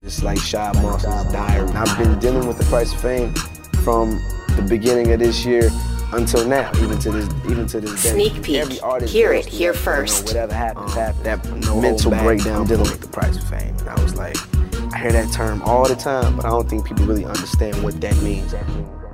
It's like Shy Moss's diary. I've been dealing with the price of fame from the beginning of this year until now, even to this day. Sneak peek. Hear it here first. Whatever happens, that mental breakdown. I'm dealing with the price of fame, and I was like, I hear that term all the time, but I don't think people really understand what that means.